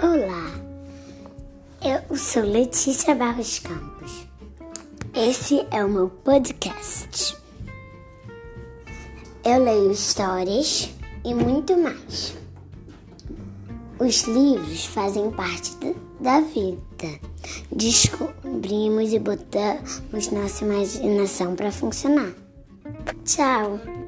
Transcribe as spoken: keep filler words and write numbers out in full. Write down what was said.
Olá, eu sou Letícia Barros Campos. Esse é o meu podcast. Eu leio histórias e muito mais. Os livros fazem parte da vida. Descobrimos e botamos nossa imaginação para funcionar. Tchau!